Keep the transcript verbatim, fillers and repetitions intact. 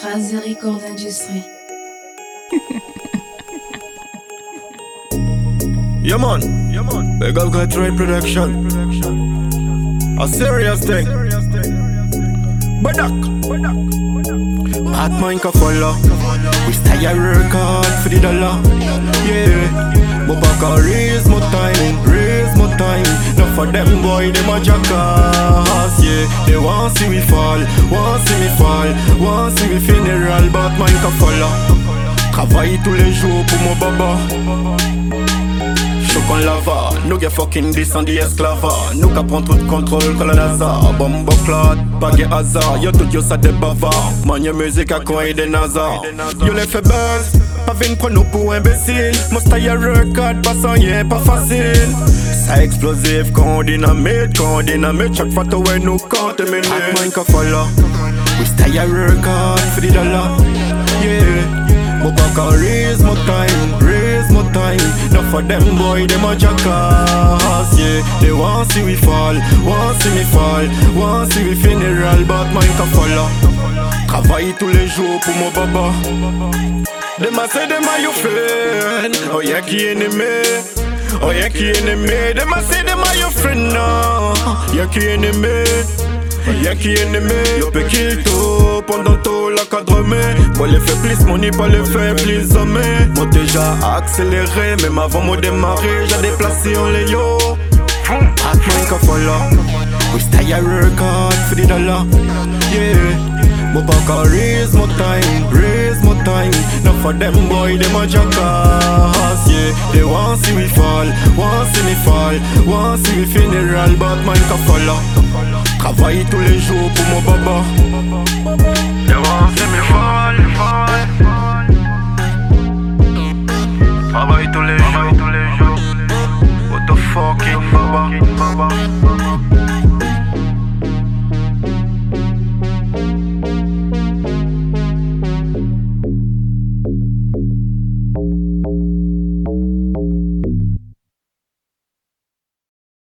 Razi Record Industry. Yeah man, yeah man. Big up got right production. A serious thing. Badak, bad mind can follow. We stay a work hard for the dollar. Yeah, but back a raise my time, raise my time. Not for them boy, them a jackass. Yeah, they want see me fall, want see me fall, want see me funeral. Bad mind can follow. Travaille tous les jours pour mon baba. Choc en lava, nous get fucking descend des esclaves. Nous qui prend tout contrôle comme le NASA. Bombe clot, pas de hasard. Yo tout yo ça des bavards. Man yo musique à coin et des nazars. Yo les fait buzz, pas vin prendre nous pour imbécile. Mon style a record, pas sans rien, pas facile. Ça explosif quand on dynamite, quand on dynamite. Chaque fois toi nous compte minute. Hot mind can follow. We stay a record for the dollar. Yeah. But back and raise my time, raise my time. Not for them boy, them a jackass. Yeah, they want see we fall, want see me fall, want see we funeral, but mine can follow. Travaille tous les jours pour mon baba. Them a say them a your friend. Oh yeah, qui ennemi. Oh yeah, qui ennemi. Them a say them a your friend now. Yeah, qui ennemi. Y'a qui ennemi, yo peut kill tout pendant tout la cadremé. Moi les fait plus money, pas les fait plus hommes. Moi déjà accéléré, même avant moi démarrer, j'ai déplacé en les yo. Hot mind can follow. We stay a record for the dollar. Yeah, moi back and raise my time, raise my time. Not for them boy, them a jackass. Yeah, they want see me fall, want see me fall, want see me funeral, but mine can follow. Travaille tous les jours pour mon baba. They want see me fall, fall. Travaille tous les jours, tous les jours. What the fucking baba.